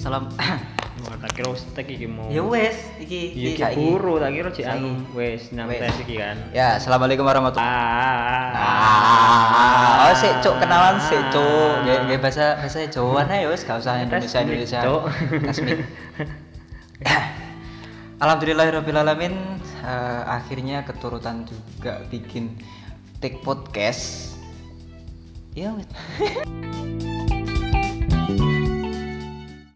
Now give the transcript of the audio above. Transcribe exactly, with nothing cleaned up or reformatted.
Salam. Wah, tak kira stek iki mau. Ya wes, iki Iya, iki iki buru tak kira cek anu Saiki. wes nang Wes. tes iki kan. Ya, assalamualaikum warahmatullahi. Ah. Ah, oh sik cuk kenalan sik cuk. Nggih nggih bahasa bahasa Jawaan ae wis gak usah Indonesia Tes Indonesia. Cuk. Tasmik. Alhamdulillahirabbil alamin, eh, akhirnya keturutan juga bikin take podcast. Ya wes.